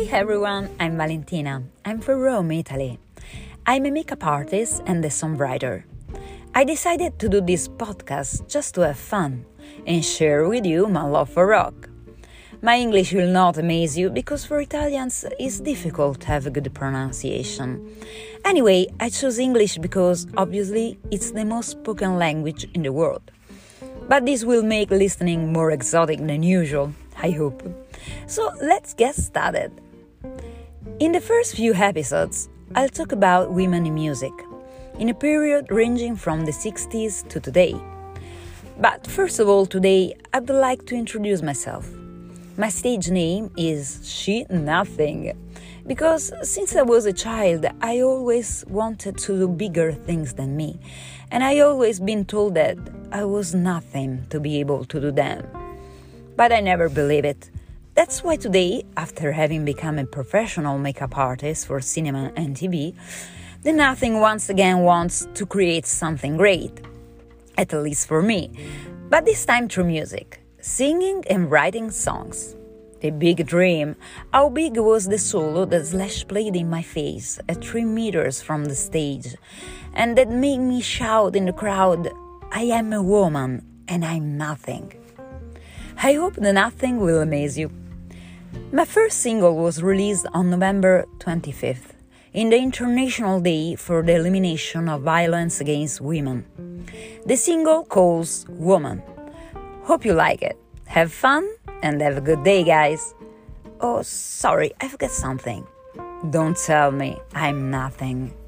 everyone, I'm Valentina. I'm from Rome, Italy. I'm a makeup artist and a songwriter. I decided to do this podcast just to have fun and share with you my love for rock. My English will not amaze you because for Italians it's difficult to have a good pronunciation. Anyway, I chose English because obviously it's the most spoken language in the world. But this will make listening more exotic than usual, I hope. So let's get started. In the first few episodes, I'll talk about women in music, in a period ranging from the 60s to today. But first of all, today I would like to introduce myself. My stage name is She Nothing, because since I was a child, I always wanted to do bigger things than me, and I always been told that I was nothing to be able to do them. But I never believed it. That's why today, after having become a professional makeup artist for cinema and TV, the Nothing once again wants to create something great, at least for me, but this time through music. Singing and writing songs. The big dream. How big was the solo that Slash played in my face at 3 meters from the stage, and that made me shout in the crowd, I am a woman and I'm nothing. I hope the Nothing will amaze you. My first single was released on November 25th, in the International Day for the Elimination of Violence Against Women. The single calls Woman. Hope you like it. Have fun and have a good day, guys. Oh, sorry, I forgot something. Don't tell me I'm nothing.